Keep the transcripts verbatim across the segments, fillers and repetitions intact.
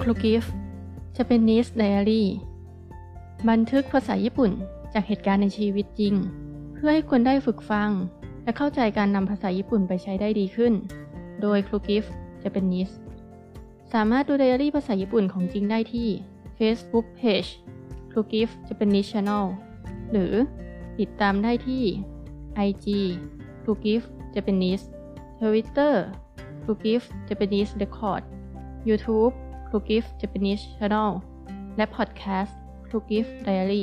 รูกิฟ Japanese Diary บันทึกภาษาญี่ปุ่นจากเหตุการณ์ในชีวิตจริงเพื่อให้คนได้ฝึกฟังและเข้าใจการนำภาษาญี่ปุ่นไปใช้ได้ดีขึ้นโดยครูกิฟ Japanese สามารถดูไดอารี่ภาษาญี่ปุ่นของจริงได้ที่ Facebook Page ครูกิฟ Japanese Channel หรือติดตามได้ที่ ไอ จี ครูกิฟ Japanese Twitter ครูกิฟ Japanese Record YouTube ครูกิฟ Japanese Channel และ Podcast ครูกิฟ Diary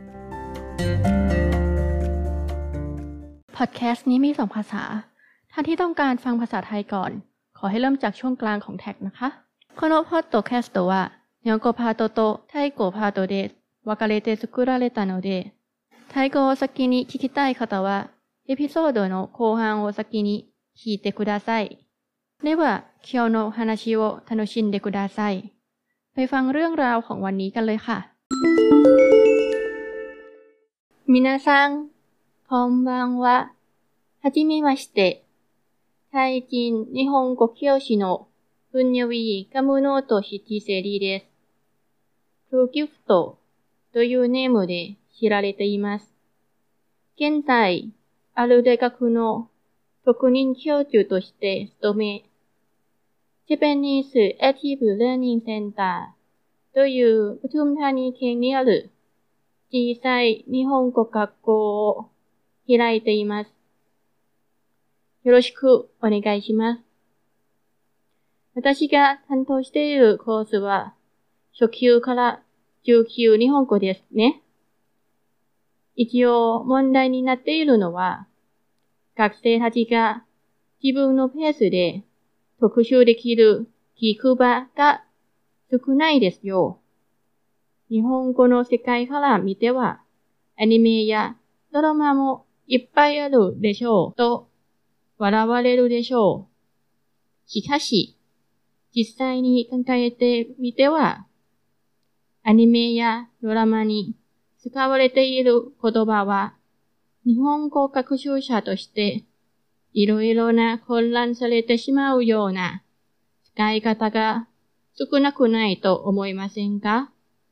Podcast นี้มีสองภาษาท่านที่ต้องการฟังภาษาไทยก่อนขอให้เริ่มจากช่วงกลางของแท็กนะคะこのポッドキャストは日本語パートとタイ語パートで分かれて作られたのでタイ語を先に聞きたい方はエピソードの後半を先に聞いてくださいでは今日の話を楽しんでくださいไปฟังเรื่องราวของวันนี้กันเลยค่ะ皆さんこんばんははじめましてタイ人日本語教師のブンニョウィカムノートシティセリですクルギフトというネームで知られています現在ある大学の特任教授として勤めジャパニーズアクティブラーニングセンターというปทุมธานี県にある小さい日本語学校を開いています。よろしくお願いします。私が担当しているコースは初級から中級日本語ですね。一応問題になっているのは学生たちが自分のペースで特集できる聞く場が少ないですよ。日本語の世界から見ては、アニメやドラマもいっぱいあるでしょうと笑われるでしょう。しかし、実際に考えてみては、アニメやドラマに使われている言葉は、日本語学習者としていろいろな混乱されてしまうような使い方が少なくないと思いませんか？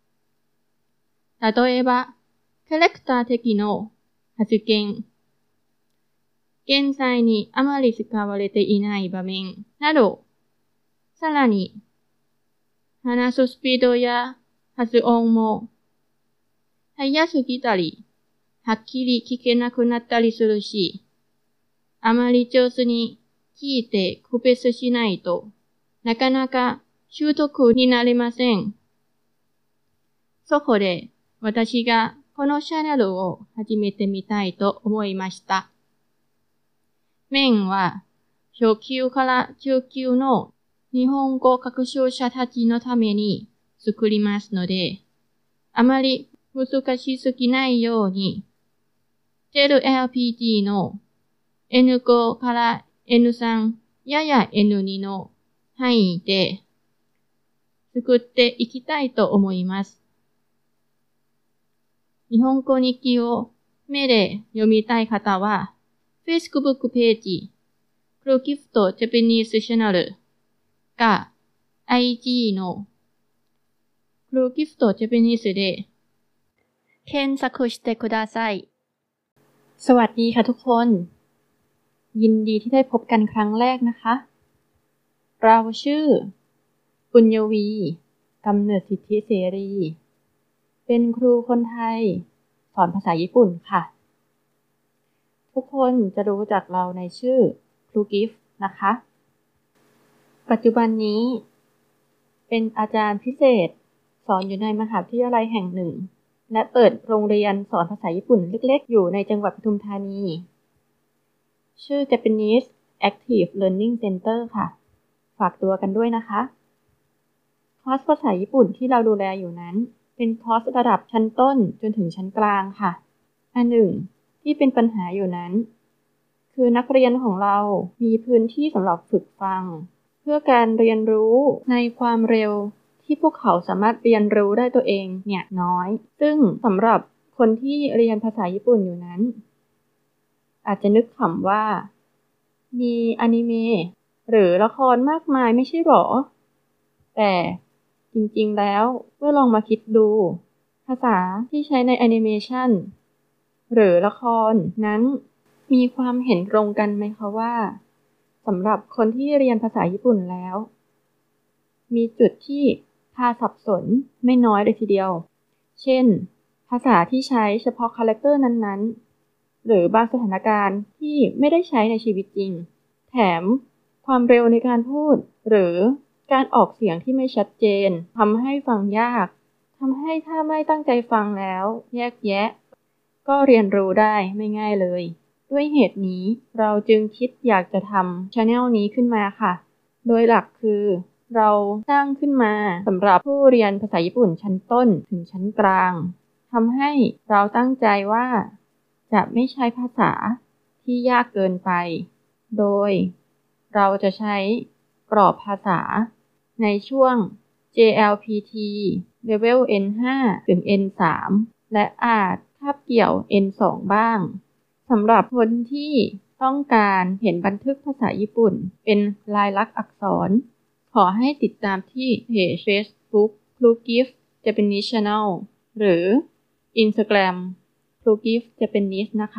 例えば、キャラクター的の発言、現在にあまり使われていない場面など、さらに、話すスピードや発音も速すぎたり、はっきり聞けなくなったりするし、あまり上手に聞いて区別しないとなかなか習得になりません。そこで私がこのチャンネルを始めてみたいと思いました。メインは初級から中級の日本語学習者たちのために作りますので、あまり難しすぎないように、ゼロアールピージー の エヌご から エヌさん やや エヌに の範囲で作っていきたいと思います。日本語日記を目で読みたい方は、Facebook ページ、クルギフト Japanese Channel か アイジー のクルギフト Japanese で検索してください。สวัสดีค่ะทุกคนยินดีที่ได้พบกันครั้งแรกนะคะเราชื่อปุญญวีกำเนิดสิทธิเสรีเป็นครูคนไทยสอนภาษาญี่ปุ่นค่ะทุกคนจะรู้จักเราในชื่อครูกิฟนะคะปัจจุบันนี้เป็นอาจารย์พิเศษสอนอยู่ในมหาวิทยาลัยแห่งหนึ่งและเปิดโรงเรียนสอนภาษาญี่ปุ่นเล็กๆอยู่ในจังหวัดปทุมธานีชื่อ Japanese Active Learning Center ค่ะฝากตัวกันด้วยนะคะคอร์สภาษาญี่ปุ่นที่เราดูแลอยู่นั้นเป็นคอร์สระดับชั้นต้นจนถึงชั้นกลางค่ะอันหนึ่งที่เป็นปัญหาอยู่นั้นคือนักเรียนของเรามีพื้นที่สำหรับฝึกฟังเพื่อการเรียนรู้ในความเร็วที่พวกเขาสามารถเรียนรู้ได้ตัวเองเนี่ยน้อยซึ่งสำหรับคนที่เรียนภาษาญี่ปุ่นอยู่นั้นอาจจะนึกขำว่ามีอนิเมะหรือละครมากมายไม่ใช่หรอแต่จจริงๆแล้วเมื่อลองมาคิดดูภาษาที่ใช้ในแอนิเมชันหรือละครนั้นมีความเห็นตรงกันไหมคะว่าสำหรับคนที่เรียนภาษาญี่ปุ่นแล้วมีจุดที่พาสับสนไม่น้อยเลยทีเดียวเช่นภาษาที่ใช้เฉพาะคาแรคเตอร์นั้นๆหรือบางสถานการณ์ที่ไม่ได้ใช้ในชีวิตจริงแถมความเร็วในการพูดหรือการออกเสียงที่ไม่ชัดเจนทำให้ฟังยากทำให้ถ้าไม่ตั้งใจฟังแล้วแยกแยะก็เรียนรู้ได้ไม่ง่ายเลยด้วยเหตุนี้เราจึงคิดอยากจะทำ channel นี้ขึ้นมาค่ะโดยหลักคือเราสร้างขึ้นมาสำหรับผู้เรียนภาษาญี่ปุ่นชั้นต้นถึงชั้นกลางทำให้เราตั้งใจว่าจะไม่ใช้ภาษาที่ยากเกินไปโดยเราจะใช้กรอบภาษาในช่วง เจ แอล พี ที Level เอ็น ห้า ถึง เอ็น สาม และอาจคาบเกี่ยว เอ็น สอง บ้างสำหรับคนที่ต้องการเห็นบันทึกภาษาญี่ปุ่นเป็นลายลักษณ์อักษรขอให้ติดตามที่เพจ Facebook Plugif Japanese Channel หรือ Instagram Plugif Japanese นะคะ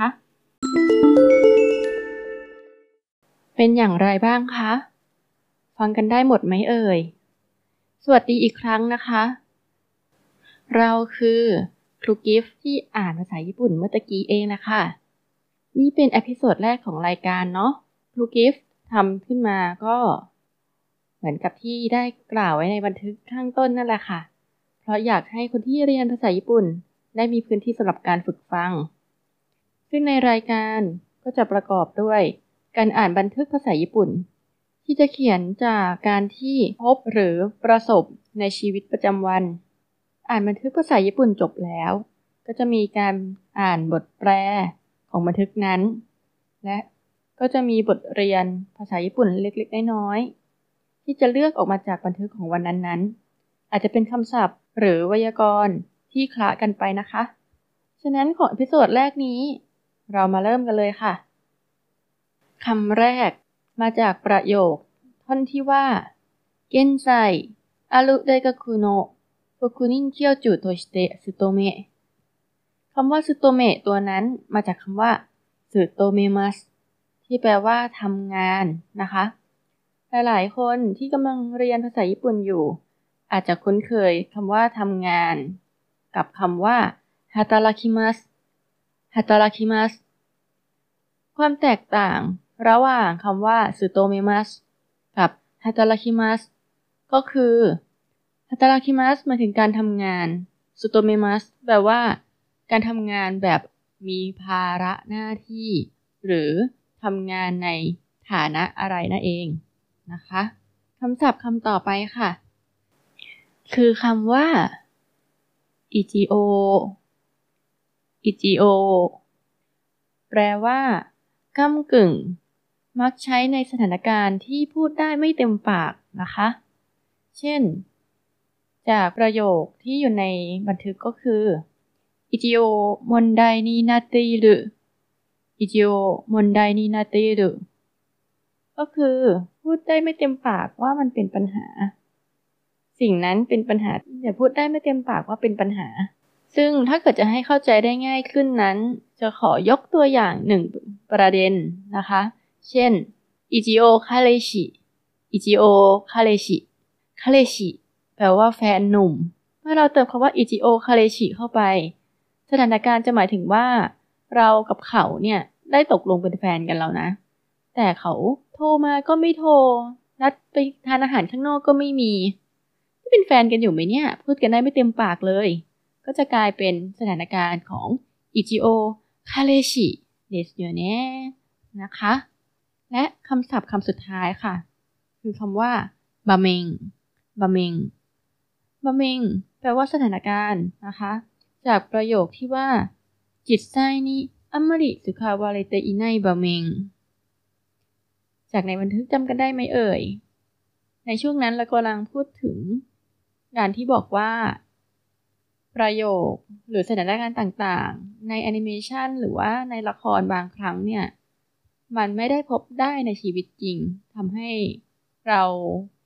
เป็นอย่างไรบ้างคะฟังกันได้หมดไหมเอ่ยสวัสดีอีกครั้งนะคะเราคือครูกิฟต์ที่อ่านภาษาญี่ปุ่นเมื่อตะกี้เองนะคะนี่เป็นเอพิโซดแรกของรายการเนาะครูกิฟต์ทำขึ้นมาก็เหมือนกับที่ได้กล่าวไว้ในบันทึกข้างต้นนั่นแหละค่ะเพราะอยากให้คนที่เรียนภาษาญี่ปุ่นได้มีพื้นที่สำหรับการฝึกฟังซึ่งในรายการก็จะประกอบด้วยการอ่านบันทึกภาษาญี่ปุ่นที่จะเขียนจากการที่พบหรือประสบในชีวิตประจำวันอ่านบันทึกภาษาญี่ปุ่นจบแล้วก็จะมีการอ่านบทแปลของบันทึกนั้นและก็จะมีบทเรียนภาษาญี่ปุ่นเล็กๆน้อยๆที่จะเลือกออกมาจากบันทึกของวันนั้นๆอาจจะเป็นคำศัพท์หรือไวยากรณ์ที่คละกันไปนะคะฉะนั้นของเอพิโซดแรกนี้เรามาเริ่มกันเลยค่ะคำแรกมาจากประโยคท่อนที่ว่า現在ある大学の特任教授として勤めคำว่า 勤めตัวนั้นมาจากคำว่าสึโตเมมัสที่แปลว่าทำงานนะคะหลายๆคนที่กำลังเรียนภาษาญี่ปุ่นอยู่อาจจะคุ้นเคยคำว่าทำงานกับคำว่าฮาตาราคิมัสฮาตาราคิมัสความแตกต่างระหว่างคำว่าสึโตเมมัสกับฮาตาราคิมัสก็คือฮาตาราคิมัสหมายถึงการทำงานสึโตเมมัสแปลว่าการทำงานแบบมีภาระหน้าที่หรือทำงานในฐานะอะไรนั่นเองนะคะคำศัพท์คำต่อไปค่ะคือคำว่าอิจิโออิจิโอแปลว่าก้ำกึ่งมักใช้ในสถานการณ์ที่พูดได้ไม่เต็มปากนะคะเช่นจากประโยคที่อยู่ในบันทึกก็คืออิจิโอมอนไดนินาเตอิรุอิจิโอมอนไดนินาเตอิรุก็คือพูดได้ไม่เต็มปากว่ามันเป็นปัญหาสิ่งนั้นเป็นปัญหาแต่พูดได้ไม่เต็มปากว่าเป็นปัญหาซึ่งถ้าเกิดจะให้เข้าใจได้ง่ายขึ้นนั้นจะขอยกตัวอย่างหนึ่งประเด็นนะคะเช่นอิจิโอคาเรชิอิจิโอคาเรชิคาเรชิแปลว่าแฟนหนุ่มเมื่อเราเติมคำว่าอิจิโอคาเรชิเข้าไปสถานการณ์จะหมายถึงว่าเรากับเขาเนี่ยได้ตกลงเป็นแฟนกันแล้วนะแต่เขาโทรมาก็ไม่โทรนัดไปทานอาหารข้างนอกก็ไม่มีเป็นแฟนกันอยู่ไหมเนี่ยพูดกันได้ไม่เต็มปากเลยก็จะกลายเป็นสถานการณ์ของอิจิโอคาเรชิเดสโยเนะนะคะและคำศัพท์คำสุดท้ายค่ะคือคำว่าบะเมงบะเมงบะเมงแปลว่าสถานการณ์นะคะจากประโยคที่ว่าจิตไซนิอัมมาริสุคาวาเรเตอิไนบะเมงจากในบันทึกจำกันได้ไหมเอ่ยในช่วงนั้นเรากำลังพูดถึงการที่บอกว่าประโยคหรือสถานการณ์ต่างๆในแอนิเมชันหรือว่าในละครบางครั้งเนี่ยมันไม่ได้พบได้ในชีวิตจริงทำให้เรา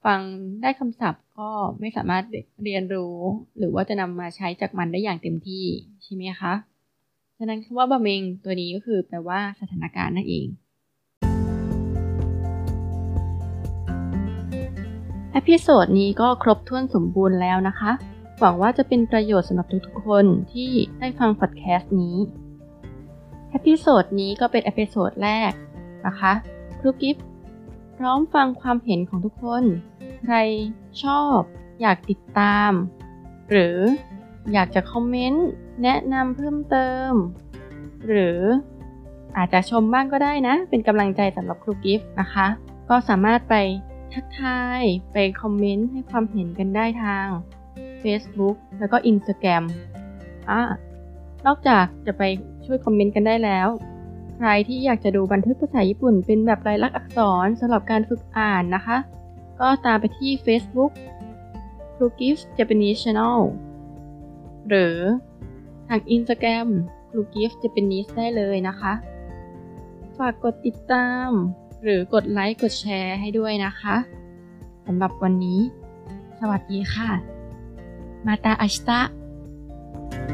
ฟังได้คำศัพท์ก็ไม่สามารถเรียนรู้หรือว่าจะนำมาใช้จากมันได้อย่างเต็มที่ใช่ไหมคะฉะนั้นคำว่าบะเมงตัวนี้ก็คือแปลว่าสถานการณ์นั่นเองเอพิโซดนี้ก็ครบถ้วนสมบูรณ์แล้วนะคะหวังว่าจะเป็นประโยชน์สำหรับทุกๆคนที่ได้ฟังพอดแคสต์นี้เอพิโซดนี้ก็เป็นเอพิโซดแรกนะคะครูกิฟต์พร้อมฟังความเห็นของทุกคนใครชอบอยากติดตามหรืออยากจะคอมเมนต์แนะนำเพิ่มเติมหรืออาจจะชมบ้างก็ได้นะเป็นกำลังใจสำหรับครูกิฟต์นะคะก็สามารถไปทักทายไปคอมเมนต์ให้ความเห็นกันได้ทาง Facebook แล้วก็ Instagram อ่ะนอกจากจะไปช่วยคอมเมนต์กันได้แล้วใครที่อยากจะดูบันทึกภาษาญี่ปุ่นเป็นแบบลายลักษณ์อักษรสำหรับการฝึกอ่านนะคะก็ตามไปที่ Facebook Crugift Japanese Channel หรือทาง Instagram Crugift Japanese ได้เลยนะคะฝากกดติดตามหรือกดไลค์กดแชร์ให้ด้วยนะคะสำหรับวันนี้สวัสดีค่ะมาตาอาชิตะ